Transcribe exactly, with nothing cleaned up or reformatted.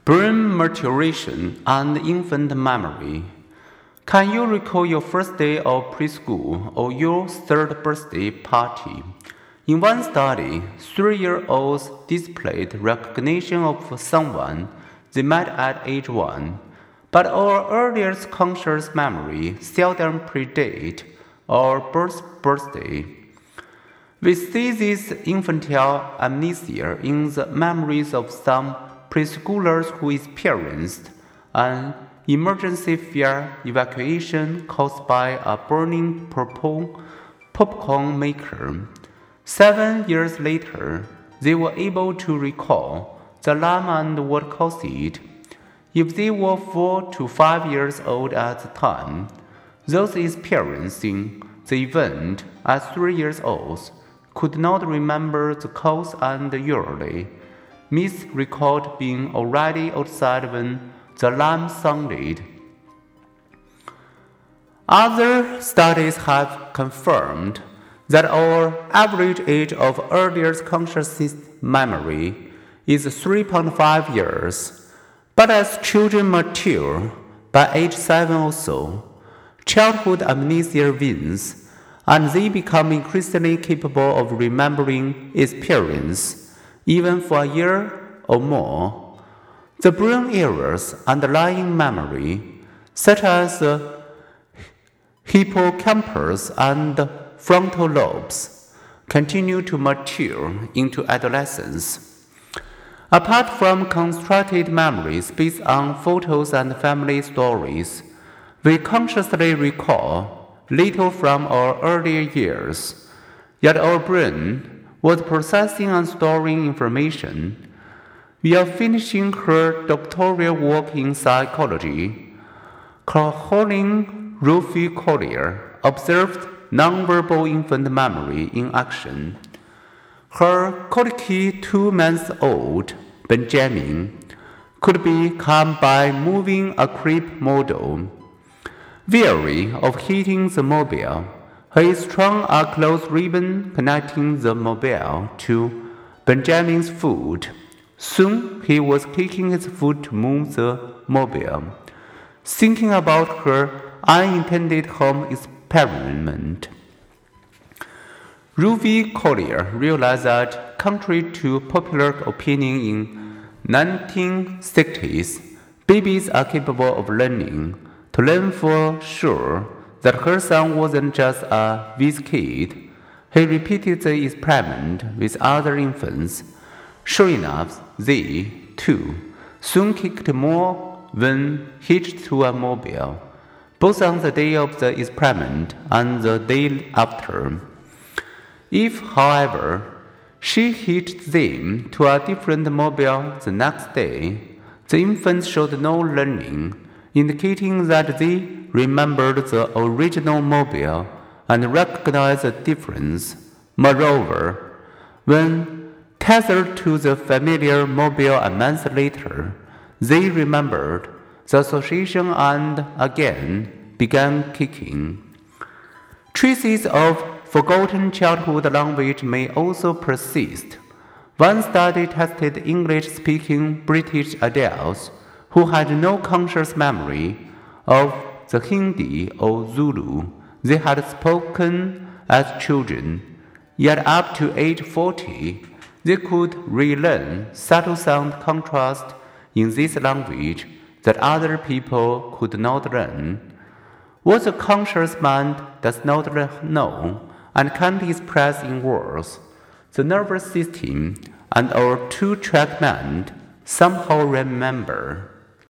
Brain maturation and infant memory. Can you recall your first day of preschool or your third birthday party? In one study, three-year-olds displayed recognition of someone they met at age one, but our earliest conscious memory seldom predate our birth birthday. We see this infantile amnesia in the memories of some preschoolers who experienced an emergency fire evacuation caused by a burning purple popcorn maker. Seven years later, they were able to recall the alarm and what caused it. If they were four to five years old at the time, those experiencing the event as three years old could not remember the cause and usually misrecalled being already outside when the alarm sounded. Other studies have confirmed that our average age of earliest conscious memory is three point five years, but as children mature, by age seven or so, childhood amnesia wanes, and they become increasingly capable of remembering experience, even for a year or more. The brain areas underlying memory, such as the hippocampus and frontal lobes, continue to mature into adolescence. Apart from constructed memories based on photos and family stories, we consciously recall little from our earlier years, yet our brain was processing and storing information. While finishing her doctoral work in psychology, Caroline Ruffy Collier observed nonverbal infant memory in action. Her colicky two-month-old Benjamin could be calmed by moving a crepe model. Weary of hitting the mobile, he strung a cloth ribbon connecting the mobile to Benjamin's foot. Soon he was kicking his foot to move the mobile, thinking about her unintended home experiment. Ruby Collier realized that, contrary to popular opinion in nineteen sixties, babies are capable of learning. To learn for sure that her son wasn't just a whiz kid, he repeated the experiment with other infants. Sure enough, they, too, soon kicked more when hitched to a mobile, both on the day of the experiment and the day after. If, however, she hitched them to a different mobile the next day, the infants showed no learning, indicating that they remembered the original mobile and recognized the difference. Moreover, when tethered to the familiar mobile a month later, they remembered the association and again began kicking. Traces of forgotten childhood language may also persist. One study tested English-speaking British adults who had no conscious memory of the Hindi or Zulu they had spoken as children, yet up to age forty, they could relearn subtle sound contrast in this language that other people could not learn. What the conscious mind does not know and can't express in words, the nervous system and our two-track mind somehow remember.